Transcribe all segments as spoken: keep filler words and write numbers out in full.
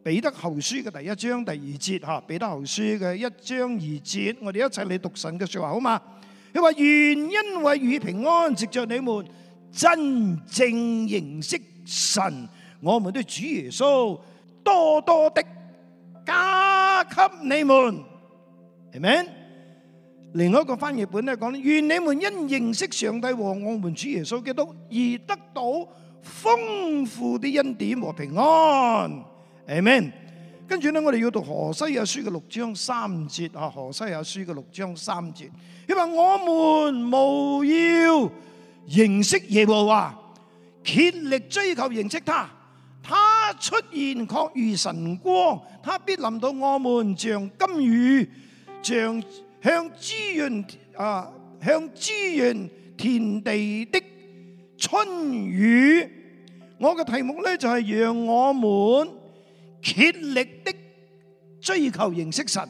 彼得後書嘅第一章第二節嚇，彼得後書嘅一章二節，我哋一齊嚟讀神嘅説話好嘛？佢話願恩惠與平安，藉著你們真正認識神，我們的主耶穌，多多的加給你們，係咪？另外一個翻譯本咧講，願你們因認識上帝和我們主耶穌基督而得到豐富的恩典和平安。Amen。跟住咧，我哋要讀何西阿書嘅六章三節啊，何西阿書嘅六章三節，因為我們務要認識耶和華，竭力追求認識他。他出現確如晨光，他必臨到我們，像甘雨，像向滋潤啊，向滋潤田地的春雨。我嘅題目咧就係讓我們竭力的追求認識神。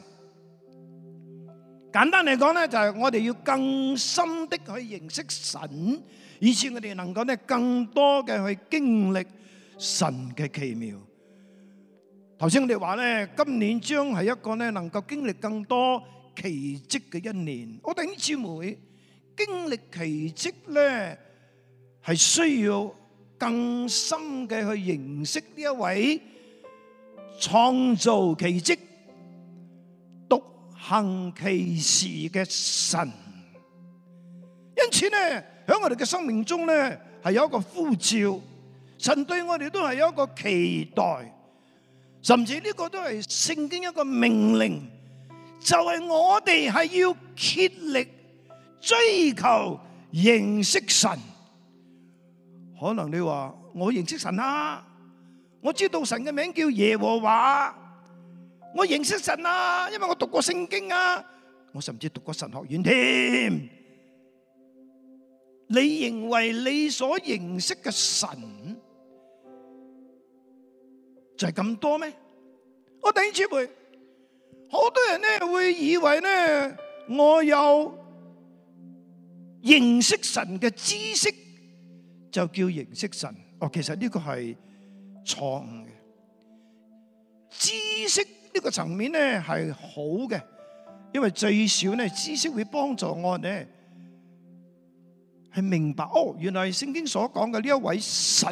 簡單嚟講咧，就係我哋要更深的去認識神，以致我哋能夠咧更多嘅去經歷神嘅奇妙。頭先我哋話咧，今年將係一個咧能夠經歷更多奇蹟嘅一年。我弟兄姊妹，經歷奇蹟咧係需要更深嘅去認識呢一位創造奇蹟、獨行奇事嘅神。因此咧，喺我哋嘅生命中咧係有一個呼召，神對我哋都係有一個期待，甚至呢個都係聖經一個命令，就係我哋係要竭力追求認識神。可能你話我認識神啊，我知道神嘅名叫耶和華，我認識神啊，因為我讀過聖經啊，我甚至讀過神學院添。你認為你所認識嘅神就係咁多咩？我弟兄姊妹，好多人咧會以為咧我有認識神嘅知識就叫認識神。哦，其實呢個係錯誤嘅。知識呢個層面咧係好嘅，因為最少咧知識會幫助我哋係明白，哦，原來聖經所講嘅呢一位神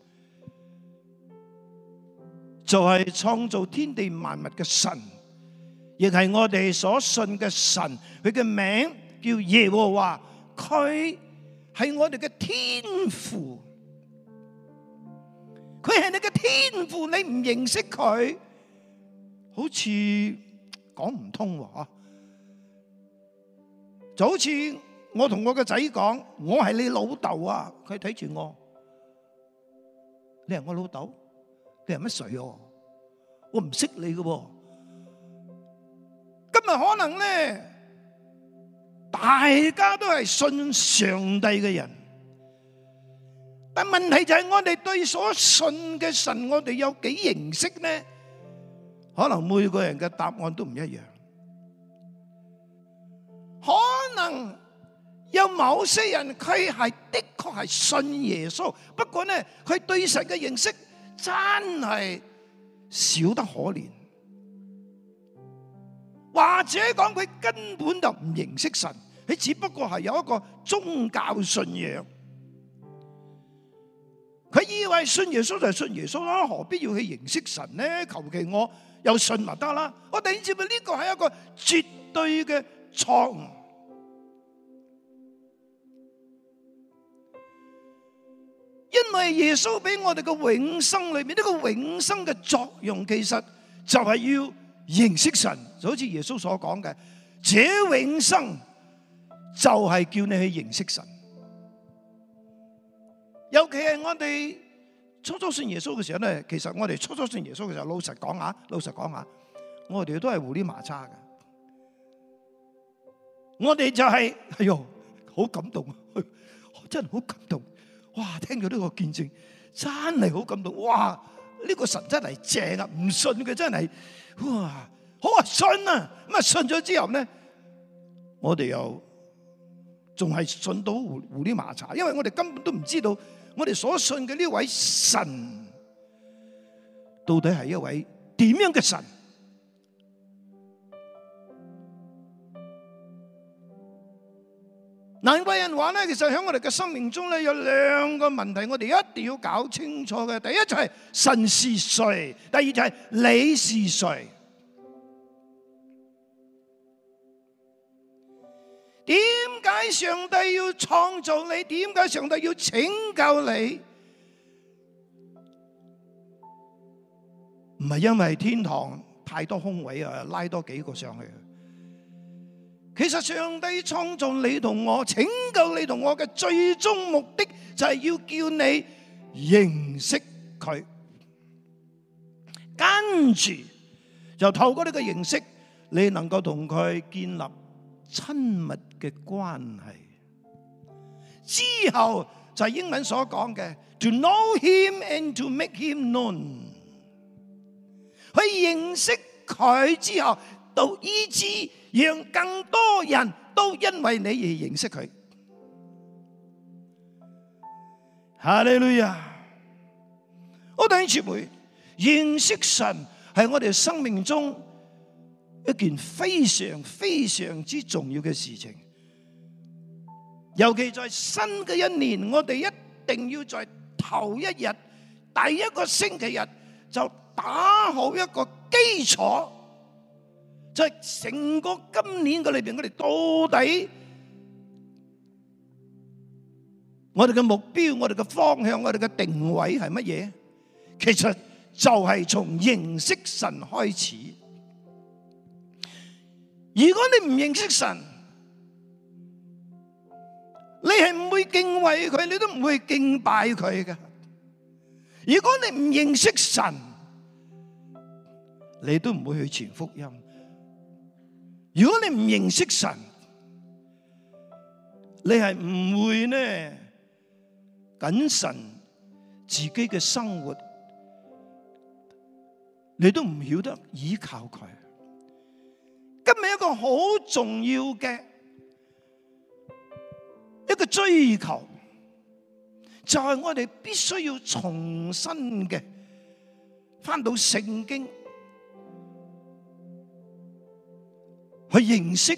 就係創造天地萬物嘅神，亦係我哋所信嘅神。佢嘅名叫耶和華，佢係我哋嘅天父。佢係你嘅天父，你唔認識佢，好似講唔通喎。就好似我同我個仔講，我係你老豆啊，佢睇住我，你係我老豆？你係乜水啊？我唔識你嘅。今日可能咧，大家都係信上帝嘅人，但問題就係我哋對所信嘅神，我哋有幾認識呢？可能每個人嘅答案都唔一樣。可能有某些人佢係的確係信耶穌，不過呢，佢對神嘅認識真係少得可憐，或者講佢根本就唔認識神，佢只不過係有一個宗教信仰。佢以為信耶穌就係信耶穌啦，何必要去認識神呢？求其我有信咪得啦。我哋知唔知呢個係一個絕對嘅錯誤？因為耶穌俾我哋嘅永生裏面，呢個永生嘅作用其實就係要認識神，就好似耶穌所講嘅，這永生就係叫你去認識神。尤其係我哋初初信耶穌嘅時候咧，其實我哋初初信耶穌嘅時候，老實講下，老實講下，我哋都係糊裡麻叉嘅。我哋就係，哎喲，好感動，真係好感動。哇！聽到呢個見證，真係好感動。哇！呢個神真係正啊！唔信嘅真係，哇！好啊，信啊！咁啊，信咗之後咧，我哋又仲係信到糊糊裡麻叉，因為我哋根本都唔知道。.我哋所信嘅呢位神到底係一位點樣嘅神？難怪人話咧，其實喺我哋嘅生命中咧，有兩個問題，我哋一定要搞清楚嘅。第一就係神是誰，第二就係你是誰。點解上帝要創造你？點解上帝要拯救你？唔係因為天堂太多空位啊，拉多幾個上去。其實上帝創造你同我，拯救你同我嘅最終目的就係要叫你認識佢，跟住就透過呢個認識，你能夠同佢建立親密嘅關係。之後就係英文所講嘅 to know him and to make him known， 去認識佢之後，到以致讓更多人都因為你而認識佢。哈利路亞！我弟兄姊妹，認識神係我哋生命中一件非常非常之重要嘅事情。尤其在新嘅一年，我哋一定要在頭一日、第一個星期日就打好一個基礎。就係成個今年嘅裏邊，我哋到底我哋嘅目標、我哋嘅方向、我哋嘅定位係乜嘢？其實就係從認識神開始。如果你唔認識神，你係唔會敬畏佢，你都唔會敬拜佢嘅。如果你唔認識神，你都唔會去傳福音。如果你唔認識神，你係唔會呢謹慎自己嘅生活，你都唔曉得依靠佢。今日一個好重要嘅一個追求，就係我哋必須要重新嘅返到聖經，去認識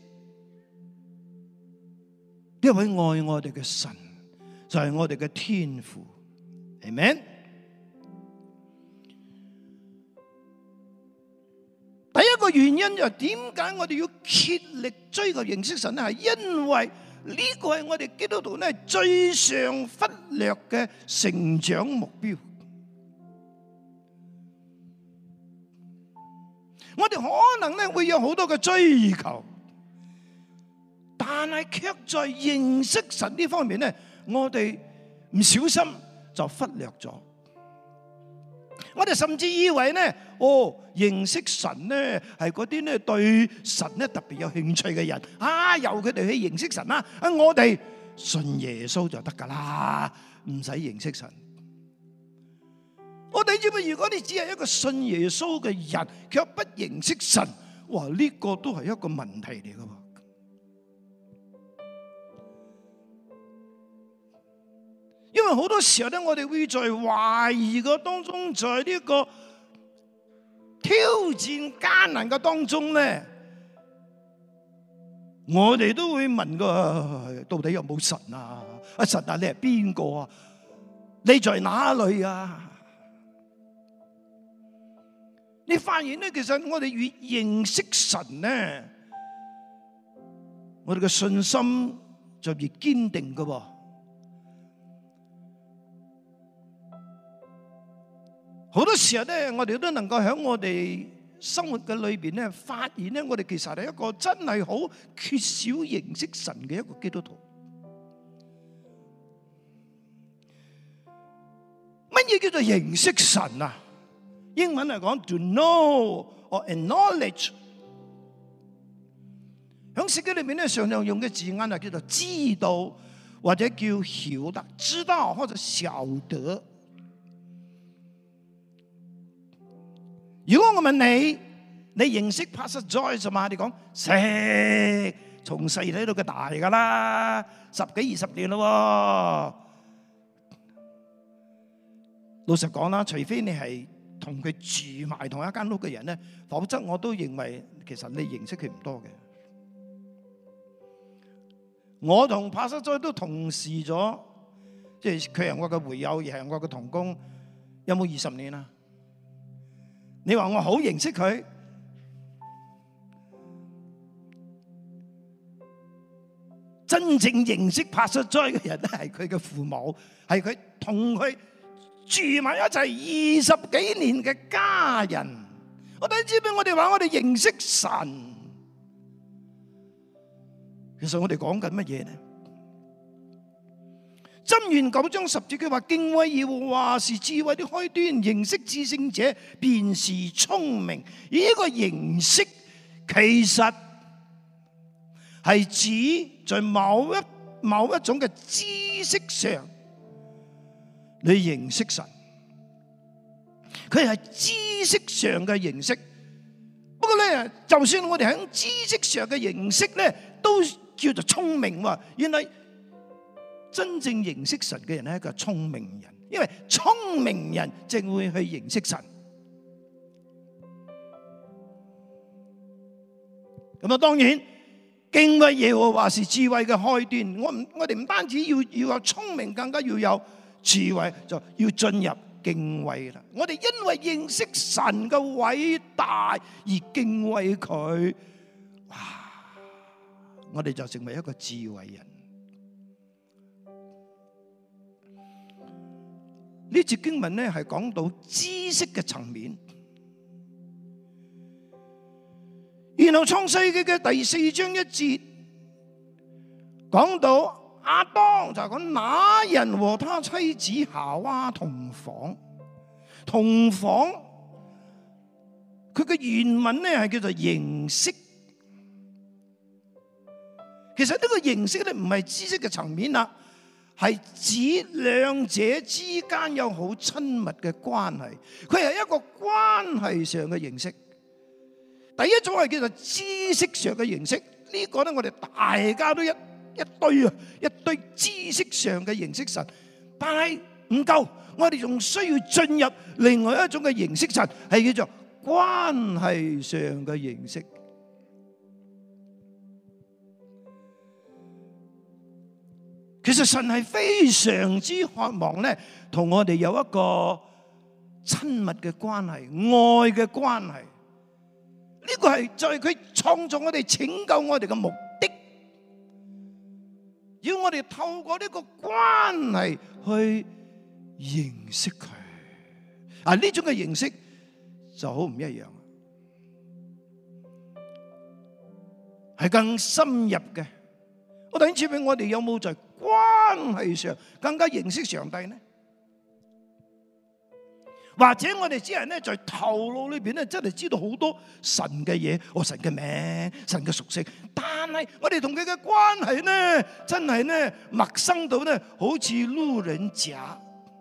一位愛我哋嘅神，就係我哋嘅天父。阿們。第一個原因就係點解我哋要竭力追求認識神咧？係因為呢個係我哋基督徒咧最常忽略嘅成長目標。我哋可能咧會有好多嘅追求，但係卻在認識神呢方面咧，我哋唔小心就忽略咗。我哋甚至以為咧，哦，認識神咧係嗰啲咧對神咧特別有興趣嘅人啊，由佢哋去認識神啦。啊，我哋信耶穌就得噶啦，唔使認識神。我哋知唔知？如果你只係一個信耶穌嘅人，卻不認識神，哇！呢個都係一個問題嚟噶。因為好多時候咧，我哋會在懷疑嘅當中，在呢個挑戰艱難嘅當中咧，我哋都會問個到底有冇神啊？阿神啊，你係邊個啊？你在哪裏啊？你發現咧，其實我哋越認識神咧，我哋嘅信心就越堅定噶喎。好多時候咧，我哋都能夠喺我哋生活嘅裏邊咧，發現咧，我哋其實係一個真係好缺少認識神嘅一個基督徒。乜嘢叫做認識神啊？英文嚟講 to know or acknowledge， 喺聖經裏面咧，常常用嘅字眼係叫做知道或者叫曉得，知道或者曉得。如果我問你，你認識 Pastor Joyce 嘛？你講識，從細睇到佢大噶啦，十幾二十年咯。老實講啦，除非你係同佢住埋同一間屋嘅人咧，否則我都認為其實你認識佢唔多嘅。我同帕薩佐都同事咗，即係佢係我嘅會友，亦係我嘅同工，有冇二十年啊？你話我好認識佢？真正認識帕薩佐嘅人咧，係佢嘅父母，係佢同佢住埋一齊二十幾年嘅家人。我哋知唔知我哋話我哋認識神？其實我哋講緊乜嘢呢？箴言九章十節佢話，敬畏耶和華是智慧的開端，認識至聖者便是聰明。而呢個認識其實係指在某一某一種嘅知識上，你認識神。佢係知識上嘅認識。不過咧，就算我哋喺知識上嘅認識咧，都叫做聰明喎。原來真正認識神嘅人係一個聰明人，因為聰明人正會去認識神。咁啊，當然敬畏耶和華是智慧嘅開端。我唔，我哋唔單止要要有聰明，更加要有智慧，就要進入敬畏啦。我哋因為認識神嘅偉大而敬畏佢，哇！我哋就成為一個智慧人。呢節經文咧係講到知識嘅層面，然後創世記嘅第四章一節講到亞當，就係講那人和他妻子夏娃同房。同房佢嘅原文咧係叫做認識。其實呢個認識咧唔係知識嘅層面啦，係指兩者之間有好親密嘅關係。佢係一個關係上嘅認識。第一種係叫做知識上嘅認識，呢個咧我哋大家都一一堆啊，一堆知識上嘅認識神，但係唔夠，我哋仲需要進入另外一種嘅認識神，係叫做關係上嘅認識。其實神係非常之渴望咧，同我哋有一個親密嘅關係、愛嘅關係。呢個係就係佢創造我哋、拯救我哋嘅目的。要我哋透過呢個關係去認識佢。啊，呢種嘅認識就好唔一樣，係更深入嘅。我等住俾我哋有冇在關係上更加認識上帝呢？或者我哋只係咧在頭腦裏邊咧真係知道好多神嘅嘢，哦，神嘅名、神嘅屬性，但係我哋同佢嘅關係咧真係咧陌生到咧好似路人甲，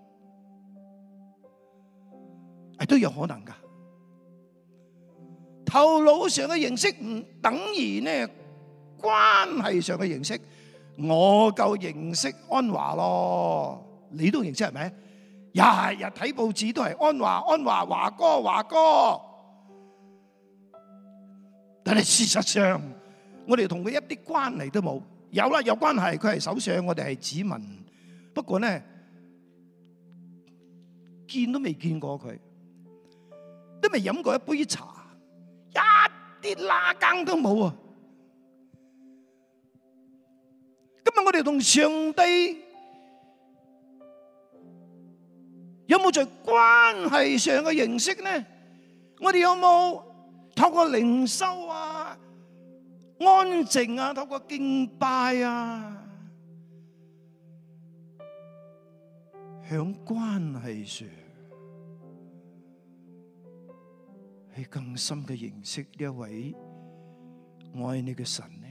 係都有可能噶。頭腦上嘅認識唔等於咧關係上嘅認識。我夠認識安華咯，你都認識係咪？日日睇報紙都係安華、安華、華哥、華哥。但係事實上，我哋同佢一啲關係都冇。有啦，有關係，佢係首相，我哋係子民。不過咧，見都未見過佢，都未飲過一杯茶，一啲拉更都冇啊！今日我哋同上帝有冇在關係上嘅認識呢？我哋有冇透過靈修啊、安靜啊、透過敬拜啊，響關係上係更深嘅認識呢一位愛你嘅神呢？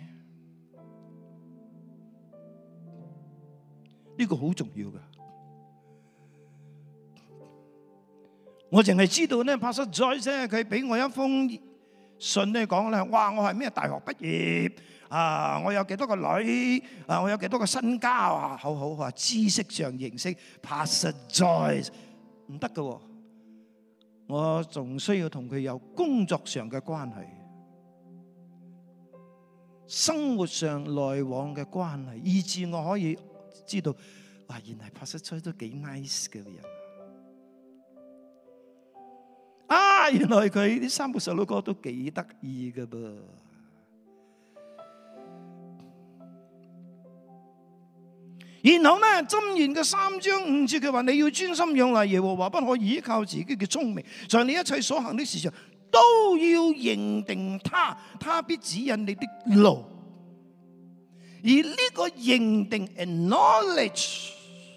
呢個好重要噶。我淨係知道咧，Pastor Joyce咧，佢俾我一封信咧，講咧，哇！我係咩大學畢業啊？我有幾多個女啊？我有幾多個身家啊？好好啊！知識上認識 Pastor Joyce 唔得噶。 我仲需要同佢有工作上嘅關係，生活上來往嘅關係，以致我可以知道，哇，原來Pastor Choi都幾 nice 嘅人啊！原來佢啲三個細佬哥都幾得意嘅噃。然後咧，箴言嘅三章五節佢話：你要專心仰賴耶和華，不可依靠自己嘅聰明，在你一切所行的事上都要認定他，他必指引你的路。而呢個認定 acknowledge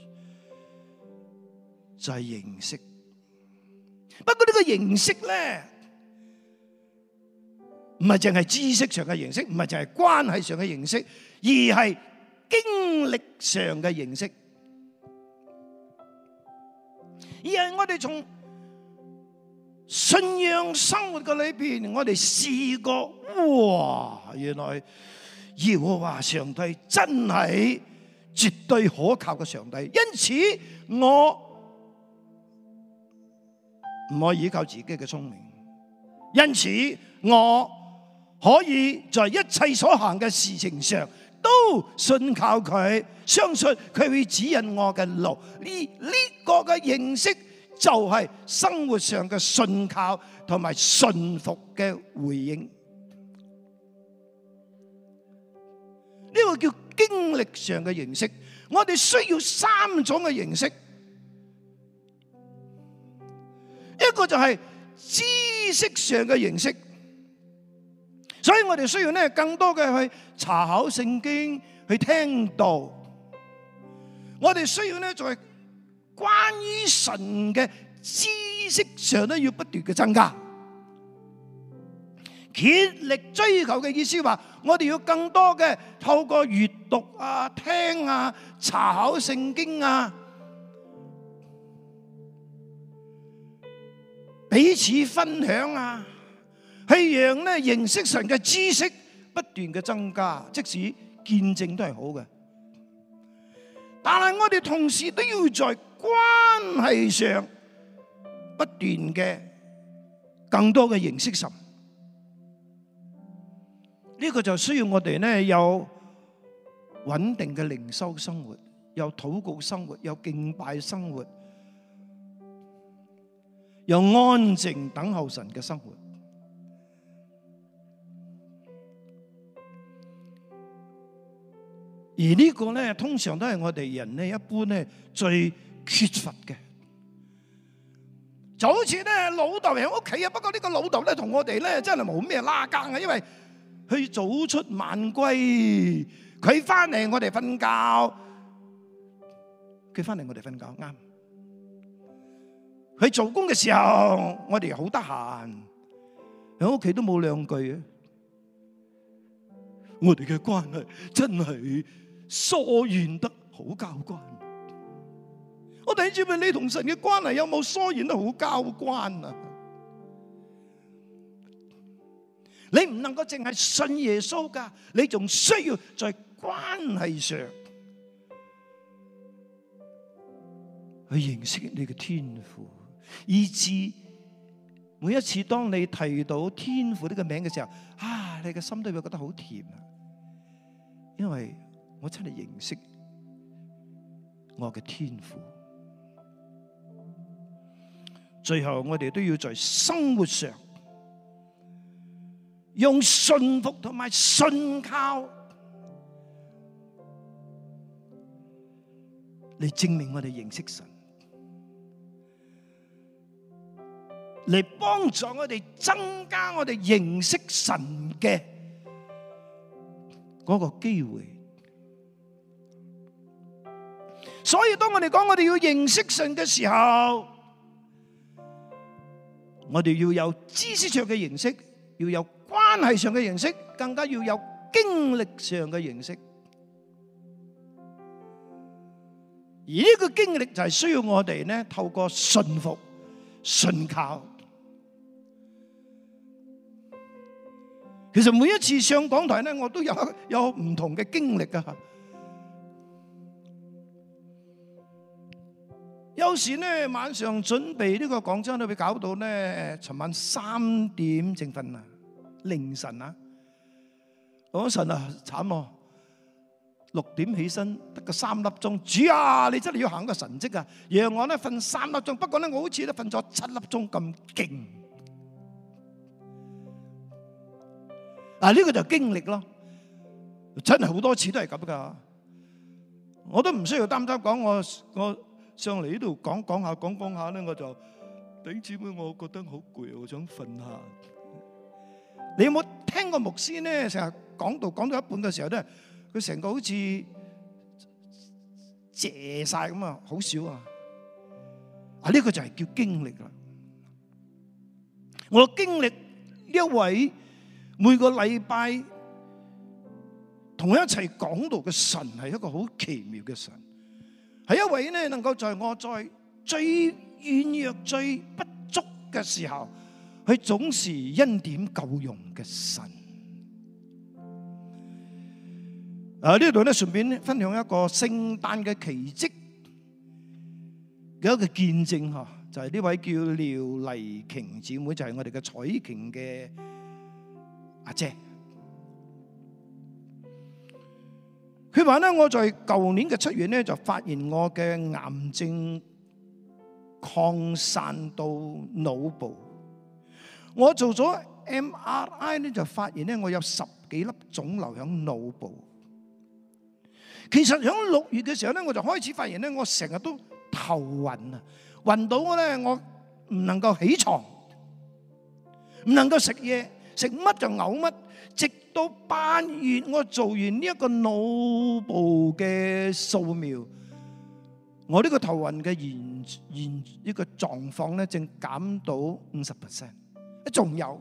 就係認識。不過呢個認識咧，唔係淨係知識上嘅認識，唔係淨係關係上嘅認識，而係經歷上嘅認識，而係我哋從信仰生活嘅裏邊，我哋試過，哇！原來耶和華上帝真係絕對可靠嘅上帝，因此我唔可以依靠自己嘅聰明，因此我可以在一切所行嘅事情上都信靠佢，相信佢會指引我嘅路。呢呢個嘅認識就係生活上嘅信靠同埋信服嘅回應。呢個叫經歷上嘅認識。我哋需要三種嘅認識，一個就係知識上嘅認識。所以我哋需要咧更多嘅去查考聖經，去聽道。我哋需要咧在關於神嘅知識上咧要不斷嘅增加，竭力追求嘅意思話，我哋要更多嘅透過閱讀啊、聽啊、查考聖經啊，彼此分享啊。係讓咧認識神嘅知識不斷嘅增加，即使見證都係好嘅。但係我哋同時都要在關係上不斷嘅更多嘅認識神。呢個就需要我哋咧有穩定嘅靈修生活，有禱告生活，有敬拜生活，有安靜等候神嘅生活。而呢個咧，通常都係我哋人咧一般咧最缺乏嘅。就好似咧老豆喺屋企啊，不過呢個老豆咧同我哋咧真係冇咩拉更啊，因為佢早出晚歸，佢翻嚟我哋瞓覺，佢翻嚟我哋瞓覺啱。佢做工嘅時候，我哋好得閒，喺屋企都冇兩句啊。我哋嘅關係真係疏遠得好交關。我哋知唔知你同神嘅關係有冇疏遠得好交關啊？你唔能夠淨係信耶穌噶，你仲需要在關係上去認識你嘅天父，以致每一次當你提到天父呢個名嘅時候，啊，你嘅心都會覺得好甜啊！因為我真係認識我嘅天父。最後我哋都要在生活上用信服同埋信靠嚟證明我哋認識神，嚟幫助我哋增加我哋認識神嘅嗰個機會。所以當我哋講我哋要認識神嘅時候，我哋要有知識上嘅認識，要有關係上嘅認識，更加要有經歷上嘅認識。而呢個經歷就係需要我哋咧透過信服、信靠。其實每一次上講台咧，我都有有唔同嘅經歷啊。有有時咧晚上準備呢個講章都會搞到咧，尋晚三點正瞓啊，凌晨啊，我神啊慘喎！六點起身得個三粒鐘，主啊，你真係要行個神蹟啊！讓我咧瞓三粒鐘，不過咧我好似咧瞓咗七粒鐘咁勁。啊，呢個就經歷咯，真係好多次都係咁噶。我都唔需要擔心講我我上嚟呢度講講下講講下咧，我就頂住咩？我覺得好攰，我想瞓下。你有冇聽過牧師咧成日講道講到一半嘅時候咧？佢成個好似謝晒咁啊，好少啊！啊，呢個就係叫經歷啦。我經歷一位每個禮拜同我一齊講道嘅神，係一個好奇妙嘅神，係一位咧能夠在我在最軟弱、最不足嘅時候，佢總是恩典夠用嘅神。啊！呢度咧順便分享一個聖誕嘅奇蹟嘅一個見證嚇，就係呢位叫廖麗瓊姊妹，就係我哋嘅彩瓊嘅阿姐。佢話咧，我在舊年嘅七月咧就發現我嘅癌症擴散到腦部，我做咗 M R I 咧就發現咧我有十幾粒腫瘤喺腦部。其實喺六月嘅時候咧，我就開始發現咧，我成日都頭暈啊，暈到我咧，我唔能夠起床，唔能夠食嘢，食乜就嘔乜。直到八月，我做完呢一個腦部嘅掃描，我呢個頭暈嘅現現呢個狀況咧，正減到五十 percent， 仲有。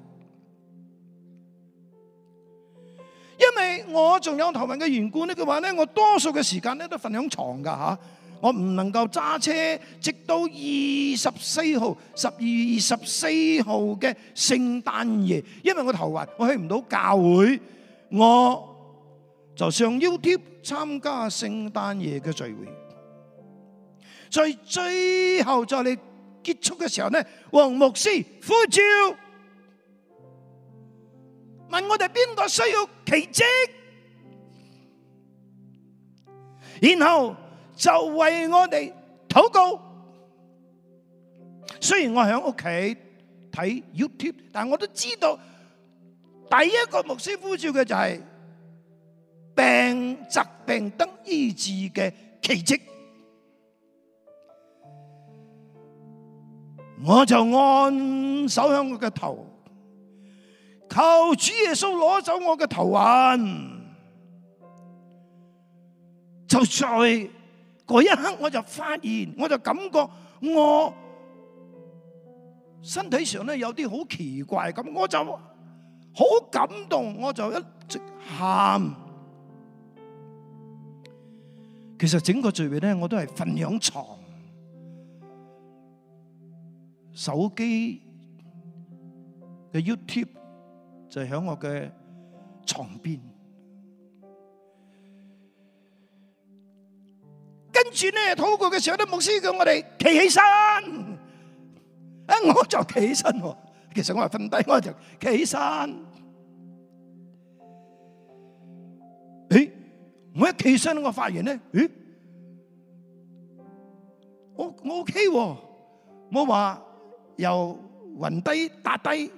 因為我仲有頭暈嘅緣故呢，嘅話咧，我多數嘅時間咧都瞓響床噶吓，我唔能夠揸車，直到二十四號十二月二十四號嘅聖誕夜，因為我頭暈，我去唔到教會，我就上 YouTube 參加聖誕夜嘅聚會。在最後在你結束嘅時候呢，黃牧師呼召，問我哋邊個需要奇蹟，然後就為我哋禱告。雖然我喺屋企睇 YouTube， 但我都知道第一個牧師呼召嘅就係病疾病得醫治嘅奇蹟。我就按手喺我嘅頭，求主耶穌攞走我嘅頭暈。就在嗰一刻，我就發現，我就感覺我身體上咧有啲好奇怪咁，我就好感動，我就一直喊。其實整個聚會咧，我都係瞓響床，手機嘅 YouTube 就喺我嘅床邊。跟住咧禱告嘅時候，啲牧師叫我哋企起身，啊我就企起身喎。其實我係瞓低，我就企起身。誒，我一企起身，我發現咧，誒，我我 OK 喎，冇話又暈低打低。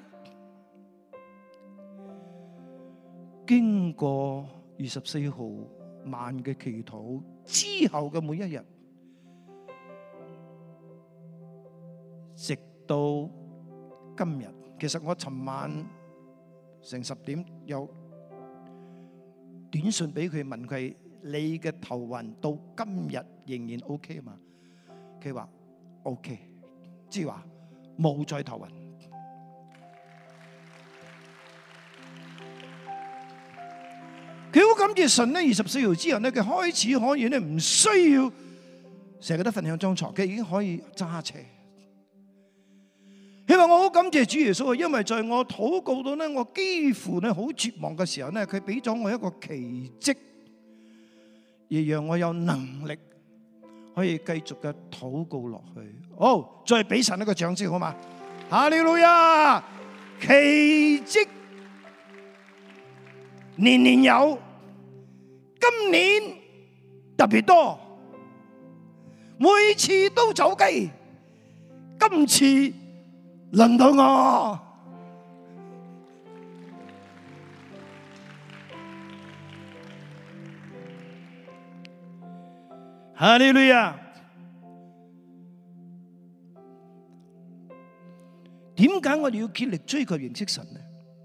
經過二十四號晚嘅祈禱之後嘅每一日，直到今日，其實我尋晚成十點有短信俾佢問佢：你嘅頭暈到今日仍然 OK 嘛？佢話 OK， 即係話冇再頭暈。佢好感謝神咧，二十四號之後咧，佢開始可以咧唔需要成日都瞓響張床，佢已經可以揸車。佢話我好感謝主耶穌，因為在我禱告到咧，我幾乎咧好絕望嘅時候咧，佢俾咗我一個奇蹟，而讓我有能力可以繼續嘅禱告落去。好，再俾神一個掌聲好嘛？哈利路亞！奇蹟年年有，今年特別多，每次都走雞，今次輪到我。哈利路亞！點解我哋要竭力追求認識神呢？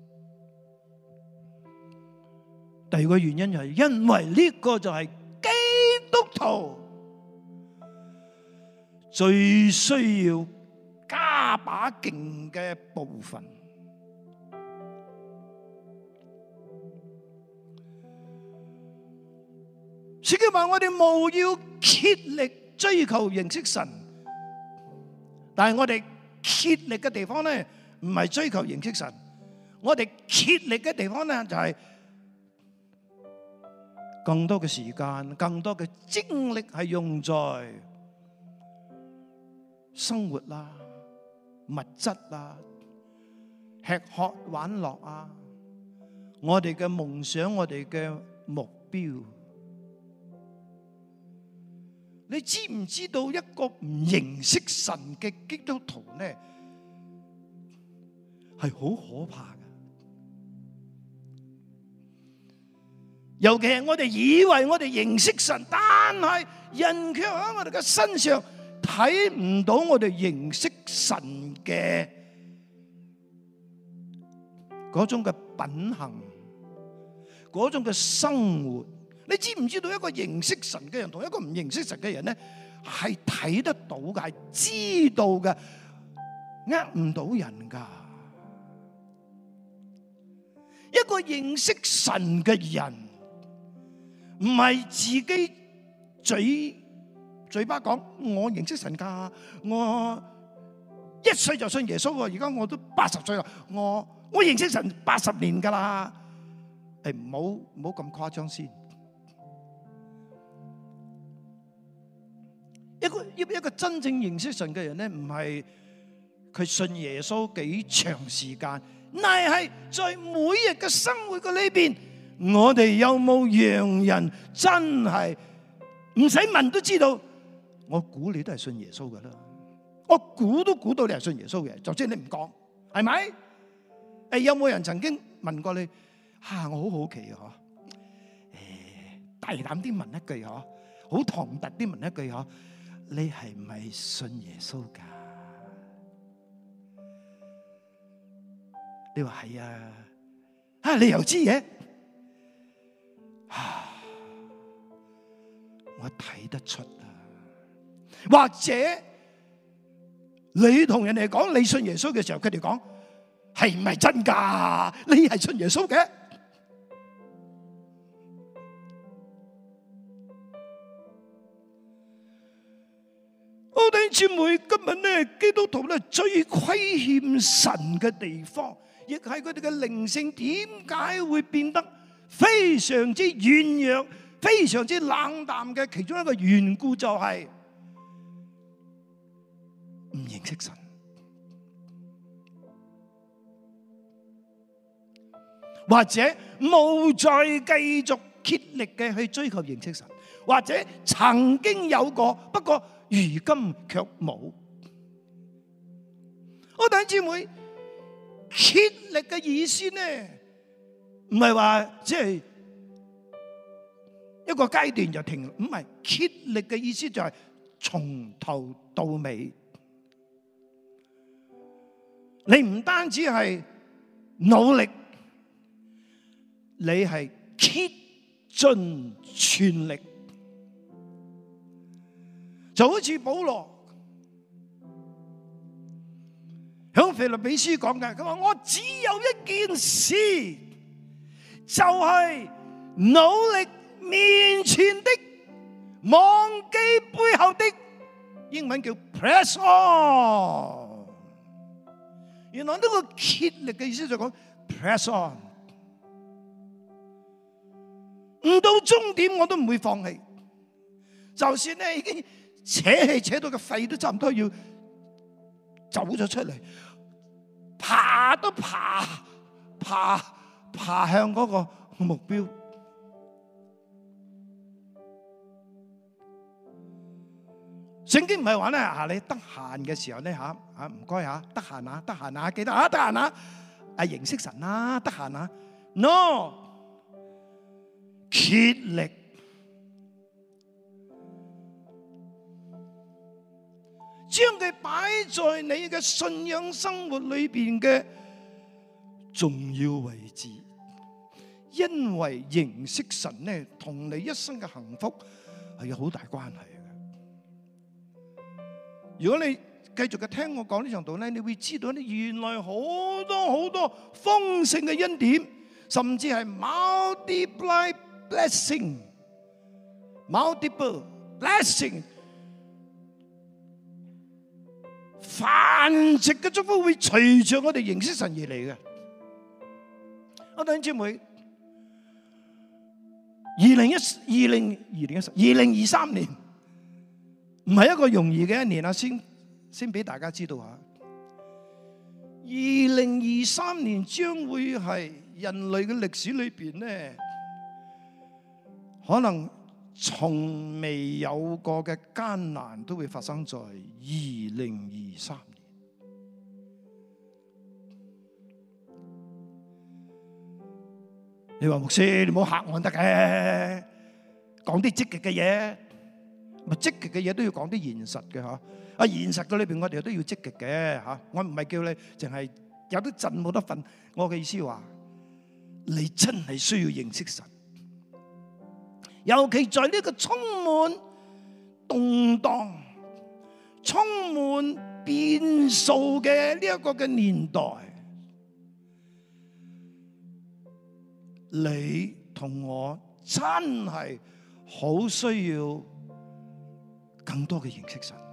第二個原因就係因為呢個就係基督徒最需要加把勁嘅部分。聖經話我哋務要竭力追求認識神，但係我哋竭力嘅地方咧，唔係追求認識神，我哋竭力嘅地方咧就係更多嘅時間、更多嘅精力係用在生活啦、物質啦、吃喝玩樂啊，我哋嘅夢想、我哋嘅目標。你知唔知道一個唔認識神嘅基督徒咧，係好可怕嘅？尤其係我哋以為我哋認識神，但係人卻喺我哋嘅身上睇唔到我哋認識神嘅嗰種嘅品行，嗰種嘅生活。你知唔知道一個認識神嘅人同一個唔認識神嘅人咧，係睇得到嘅，係知道嘅，呃唔到人噶。一個認識神嘅人，唔係自己嘴嘴巴講我認識神噶，我一歲就信耶穌喎，而家我都八十歲啦，我我認識神八十年噶啦。誒，唔好唔好咁誇張先。一個一一個真正認識神嘅人咧，唔係佢信耶穌幾長時間，乃係在每日嘅生活嘅裏邊，我哋有冇讓人真係唔使問都知道？我估你都係信耶穌噶啦，我估都估到你係信耶穌嘅，就算你唔講，係咪？誒，有冇人曾經問過你？吓，我好好奇啊！嗬，誒，大膽啲問一句嗬，好唐突啲問一句嗬。你係唔係信耶穌噶？你話係啊，啊你又知嘅？啊，我睇得出啊。或者你同人哋講你信耶穌嘅時候，佢哋講係唔係真噶？你係信耶穌嘅？弟兄姊妹，今日咧基督徒咧最虧欠神嘅地方，亦係佢哋嘅靈性點解會變得非常之軟弱、非常之冷淡嘅其中一個緣故，就係唔認識神，或者冇再繼續竭力嘅去追求認識神，或者曾經有過，不過如今卻冇。我弟兄姊妹，竭力嘅意思呢，唔係話即係一個階段就停，唔係，竭力嘅意思就係從頭到尾。你唔單止係努力，你係竭盡全力。就好似保羅響腓立比書講嘅，佢話我只有一件事，就係努力面前的，忘記背後的。英文叫 press on。原來呢個竭力嘅意思就講 press on，唔到終點我都唔會放棄，就算咧已經扯氣扯到個肺都差唔多要走咗出嚟，爬都爬爬爬向嗰個目標。聖經唔係話咧嚇，你得閒嘅時候咧嚇嚇唔該嚇，得閒啊得閒啊記得啊得閒啊啊認識神啦，得閒啊 no 竭力將佢擺在你嘅信仰生活裏邊嘅重要位置，因為認識神咧同你一生嘅幸福係有好大關係。如果你繼續嘅聽我講呢場道咧，你會知道咧，原來好多好多豐盛嘅恩典，甚至係 multiply blessing、multiple blessing， 繁殖嘅祝福會隨着我哋認識神而嚟嘅。我弟兄姊妹，二零一二零二零一二零二三年。唔係一個容易嘅一年啊！先先俾大家知道下，二零二三年將會係人類嘅歷史裏邊咧，可能從未有過嘅艱難都會發生在二零二三年。你話牧師，你唔好嚇我得嘅，講啲積極嘅嘢。咪積極嘅嘢都要講啲現實嘅嚇，啊現實嘅裏邊我哋都要積極嘅嚇。我唔係叫你淨係有得震冇得瞓，我嘅意思話，你真係需要認識神，尤其在呢個充滿動盪、充滿變數嘅呢一個嘅年代，你同我真係好需要更多嘅認識神，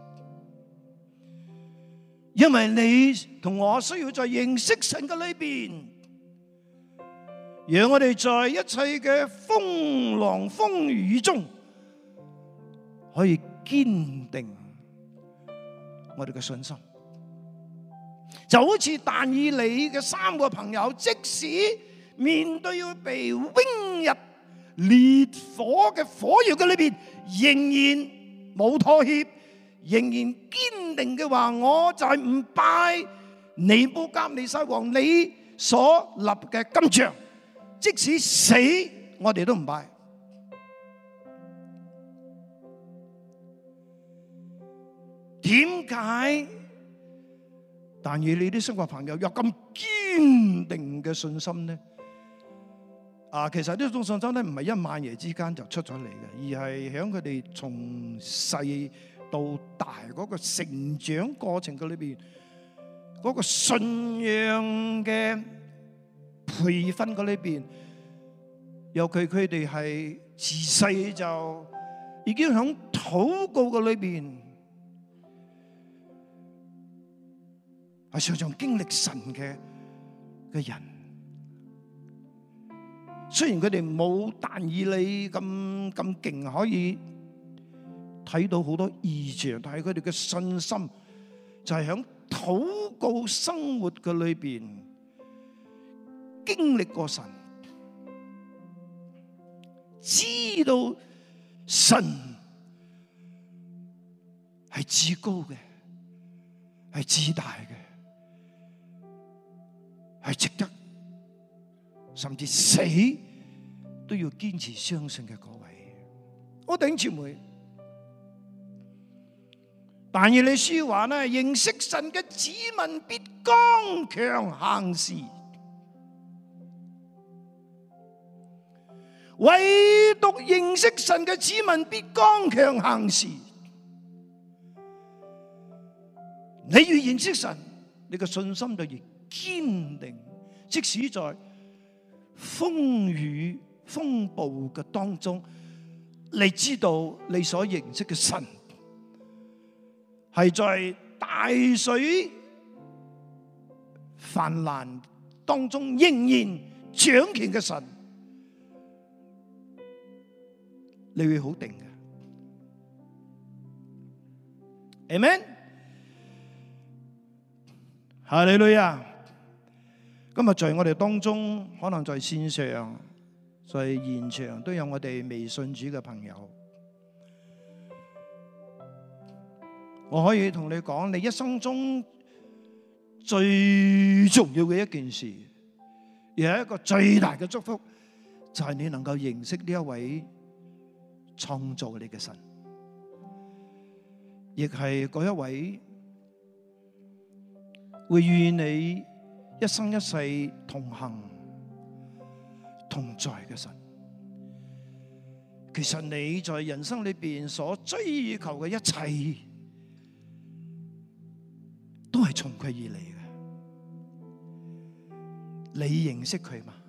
因為你同我需要在認識神嘅裏邊，讓我哋在一切嘅風浪風雨中，可以堅定我哋嘅信心。就好似但以理嘅三個朋友，即使面對要被扔入烈火嘅火窯嘅裏邊，仍然冇妥協，仍然堅定嘅話，我就係唔拜尼布甲尼撒王你所立嘅金像，即使死我哋都唔拜。點解但以理啲三個朋友有咁堅定嘅信心呢？啊，其實呢種信心咧唔係一晚夜之間就出咗嚟嘅，而係喺佢哋從細到大嗰個成長過程嘅裏邊，嗰個信仰嘅培訓嘅裏邊，尤其佢哋係自細就已經喺禱告嘅裏邊，係常常經歷神嘅嘅人。雖然佢哋冇但以理咁咁勁，可以睇到好多異象，但係佢哋嘅信心就係喺禱告生活嘅裏邊經歷過神，知道神係至高嘅，係至大嘅，係值得甚至死都要堅持相信嘅嗰位。我弟兄姊妹，但以理書話呢，認識神嘅子民必剛強行事，唯獨認識神嘅子民必剛強行事。你越認識神，你嘅信心就越堅定，即使在風雨風暴嘅當中，你知道你所認識嘅神係在大水泛濫當中仍然掌權嘅神，你會好定嘅。 Amen。哈利路亞。今日在我哋當中，可能在線上、在現場都有我哋未信主嘅朋友。我可以同你講，你一生中最重要嘅一件事，而係一個最大嘅祝福，就係你能夠認識呢一位創造你嘅神，亦係嗰一位會與你一生一世同行同在嘅神。其實你在人生裏邊所追求嘅一切，都係從佢而嚟嘅。你認識佢嘛？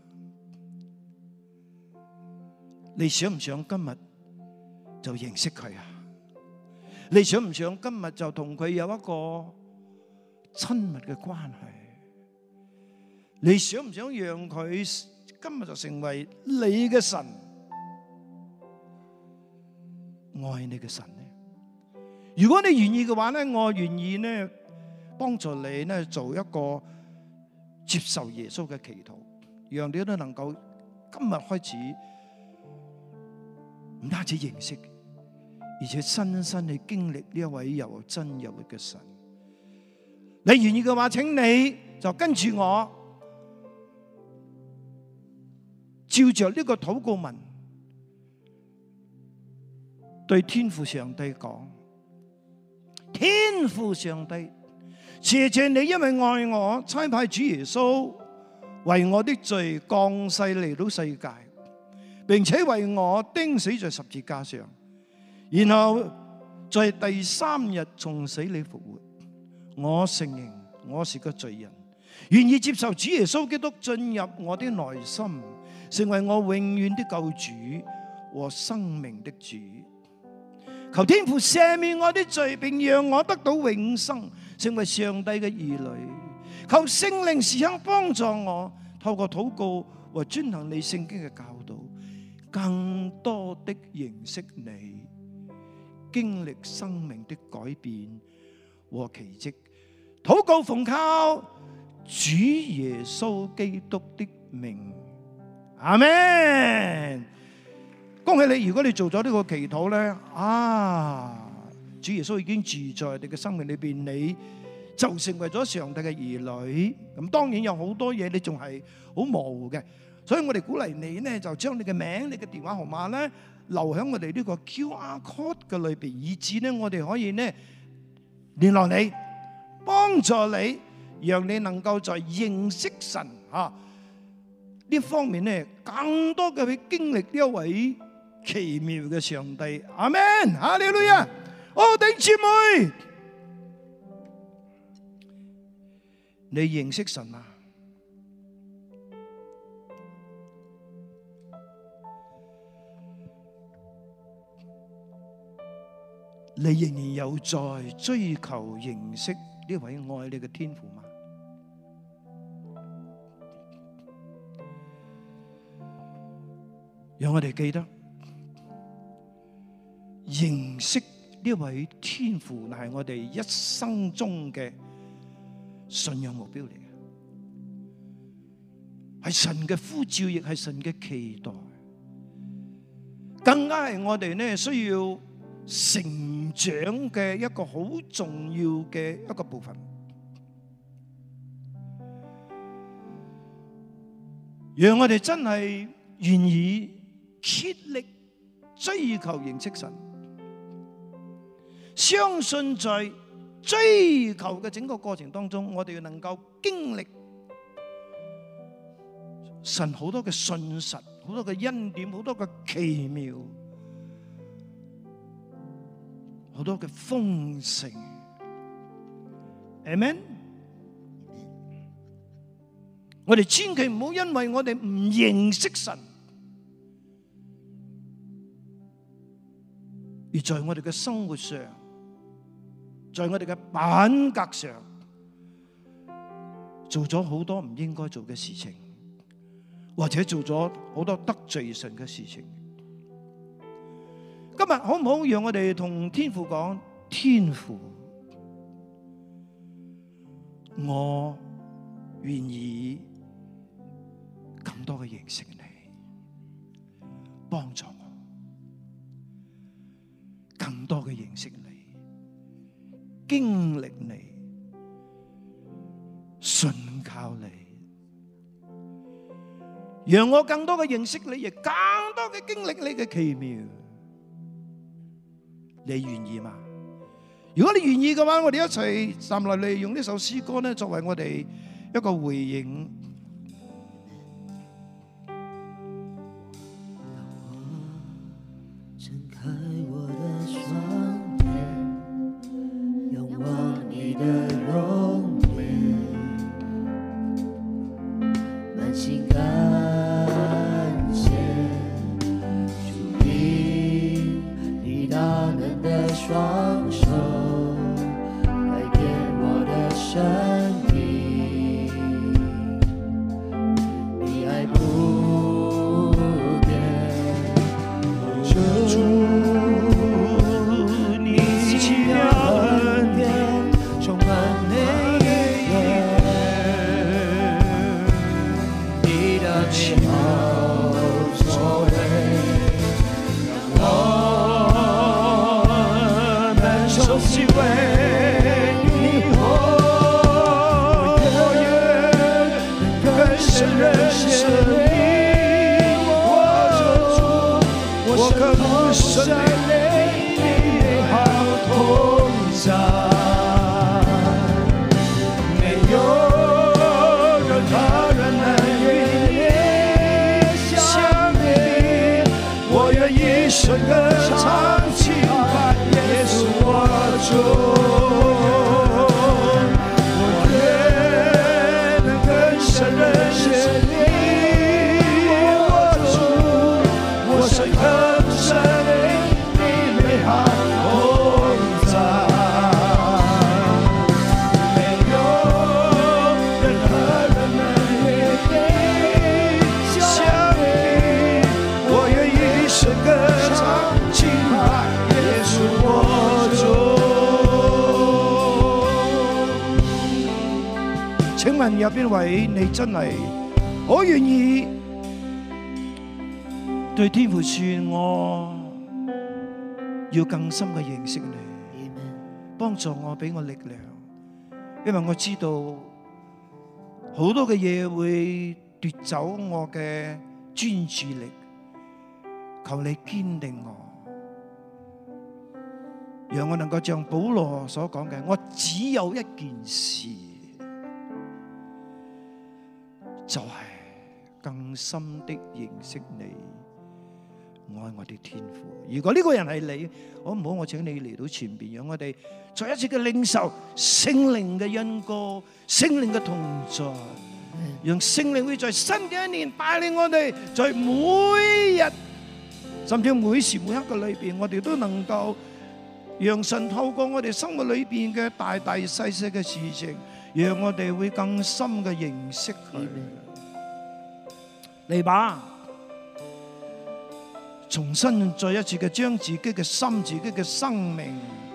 你想唔想今日就認識佢啊？你想唔想今日就同佢有一個親密嘅關係？你想唔想讓佢今日就成為你嘅神，愛你嘅神呢？如果你願意嘅話呢，我願意呢幫助你呢做一個接受耶穌嘅祈禱，讓你都能夠今日開始唔單止認識，而且親身去經歷呢一位又真又活嘅神。你願意嘅話，請你就跟住我，照着呢個禱告文，對天父上帝講：天父上帝，謝謝你，因為愛我，差派主耶穌為我的罪降世嚟到世界，並且為我釘死在十字架上，然後在第三日從死裏復活。我承認我是個罪人，願意接受主耶穌基督進入我的內心，成為我永遠的救主和生命的主。求天父赦免我的罪，並讓我得到永生，成為上帝嘅兒女。求聖靈時刻幫助我，透過禱告和遵行你聖經嘅教導，更多的認識你，經歷生命的改變和奇蹟。禱告奉靠主耶穌基督的名，阿們。恭喜你，如果你做咗呢個祈禱咧，啊，主耶穌已經住在你嘅生命裏邊，你就成為咗上帝嘅兒女。咁當然有好多嘢你仲係好模糊嘅，所以我哋鼓勵你咧，就將你嘅名、你嘅電話號碼咧留喺我哋呢個 Q R code 嘅裏邊，以至咧我哋可以咧聯絡你，幫助你，讓你能夠在認識神啊呢方面咧，更多嘅去經歷呢一位奇妙嘅上帝。阿們，哈利路亞！哦，弟兄姊妹，你認識神嗎？你仍然有在追求認識呢位愛你嘅天父嗎？讓我哋記得認識呢位天父，係我哋一生中嘅信仰目標嚟嘅，係神嘅呼召，亦係神嘅期待，更加係我哋呢需要成長嘅一個好重要嘅一個部分。讓我哋真係願意竭力追求認識神，相信在追求嘅整個過程當中，我哋能夠經歷神好多嘅信實，好多嘅恩典，好多嘅奇妙，好多嘅豐盛。Amen。我哋千祈唔好因為我哋唔認識神，而在我哋嘅生活上，在我哋嘅品格上，做咗好多唔應該做嘅事情，或者做咗好多得罪神嘅事情。今日好唔好讓我哋同天父講：天父， 我願意更多嘅認識你，幫助我更多嘅認識你，經歷你，信靠你，讓我更多嘅認識你，亦更多嘅經歷你嘅奇妙。你願意嗎？如果你願意嘅話，我哋一齊站落嚟，用呢首詩歌咧，作為我哋一個回應。 睜開我的雙眼，仰望你的容顏，滿心感謝，主你你大能的雙手，改變我的生命，你愛不變，主你奇妙恩典充滿每一頁，你的奇妙作為讓我們熟悉為認識你，我渴慕神你美好同在，沒有任何人能與你相比，我願一生歌唱敬拜耶穌我主。請問有邊位你真係好願意對天父說，我要更深嘅認識你，幫助我，俾我力量，因為我知道好多嘅嘢會奪走我嘅專注力，求你堅定我，讓我能夠像保羅所講嘅，我只有一件事，就係更深的認識你，愛我的天父。如果呢個人係你，好唔好？我請你嚟到前邊，讓我哋再一次嘅領受聖靈嘅恩膏、聖靈嘅同在，讓聖靈會在新嘅一年帶領我哋，在每日甚至每時每刻嘅裏邊，我哋都能夠讓神透過我哋生活裏邊嘅大大細細嘅事情，讓我哋會更深嘅認識佢。嚟吧，重新再一次嘅將自己嘅心、自己嘅生命，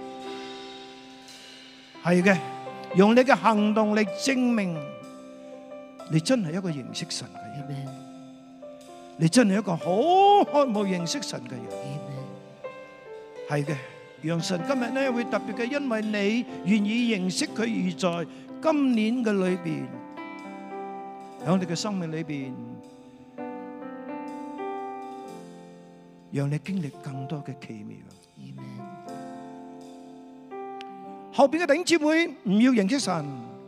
係嘅，用你嘅行動嚟證明你真係一個認識神嘅人，你真係一個好渴慕認識神嘅人，係嘅。讓神今日呢會特別嘅，因為你願意認識佢，而在今年嘅裏邊，喺你嘅生命裏邊，讓你經歷更多嘅奇妙。後邊嘅弟兄姊妹唔要認識神，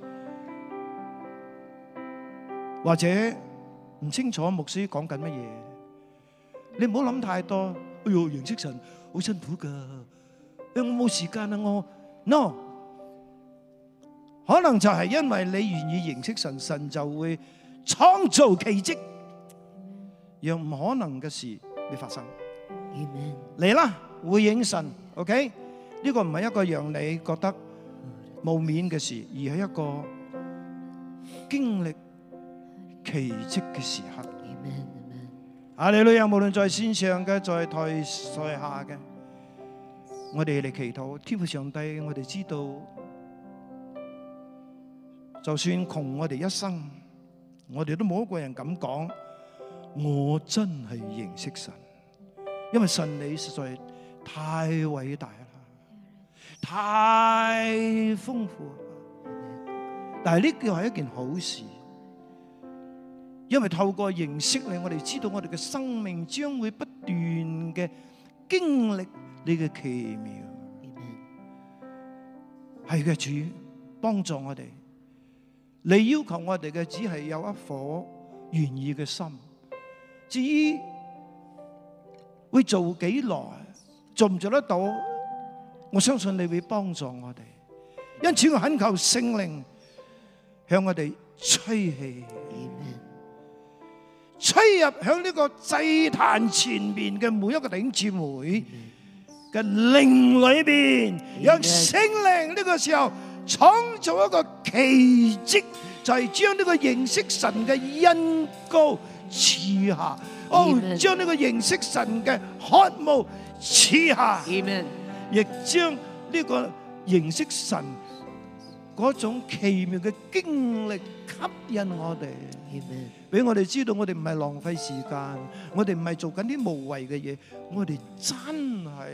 或者唔清楚牧師講緊乜嘢，你唔好諗太多。哎喲，認識神好辛苦噶，我冇時間啊！我 no， 可能就係因為你願意認識神，神就會創造奇蹟，讓唔可能嘅事會發生。嚟啦，回應神 ，OK？ 呢個唔係一個讓你覺得冇面嘅事，而係一個經歷奇蹟嘅時刻。哈利路亞！無論在線上嘅，在台台下嘅，我哋嚟祈禱。天父上帝，我哋知道就算窮我哋一生，我哋都冇一個人敢講我真係認識神，因為神你實在太偉大啦，太豐富啦。但係呢個係一件好事，因為透過認識你，我哋知道我哋嘅生命將會不斷嘅經歷你嘅奇妙。係嘅，主幫助我哋。你要求我哋嘅只係有一顆願意嘅心，至於會做幾耐，做唔做得到，我相信你會幫助我哋。因此我懇求聖靈向我哋吹氣，吹入響呢個祭壇前面嘅每一個弟兄姊妹嘅靈裏邊，讓聖靈呢個時候創造一個奇蹟，就係將呢個認識神嘅恩膏賜下，哦，將呢個認識神嘅渴慕賜下，亦將呢個認識神嗰種奇妙嘅經歷吸引我哋，俾我哋知道我哋唔係浪費時間，我哋唔係做緊啲無謂嘅嘢，我哋真係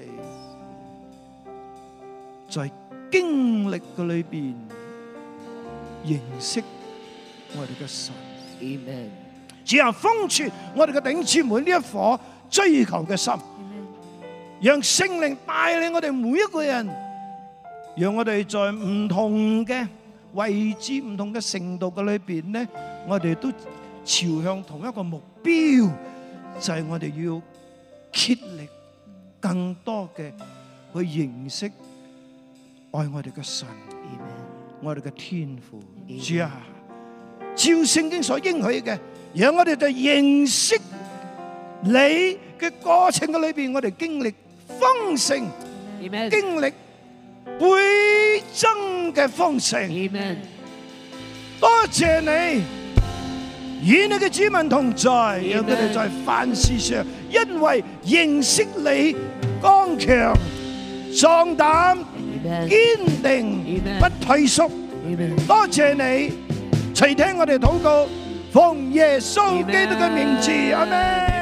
在經歷嘅裏邊認識我哋嘅神。只有封存我哋嘅弟兄姊妹呢一顆追求嘅心，讓聖靈帶領我哋每一個人，讓我哋在唔同嘅位置、唔同嘅程度嘅裏邊呢，我哋都朝向同一個目標，就係我哋要竭力更多嘅去認識愛我哋嘅神，我哋嘅天父。主啊，照聖經所應許嘅，讓我哋在認識你嘅過程嘅裏邊，我哋經歷豐盛，經歷倍增嘅豐盛。多謝你，與你嘅子民同在，讓佢哋在凡事上因為認識你，剛強壯膽，堅定不退縮。多謝你垂聽我哋禱告，奉耶穌基督嘅名字，阿們。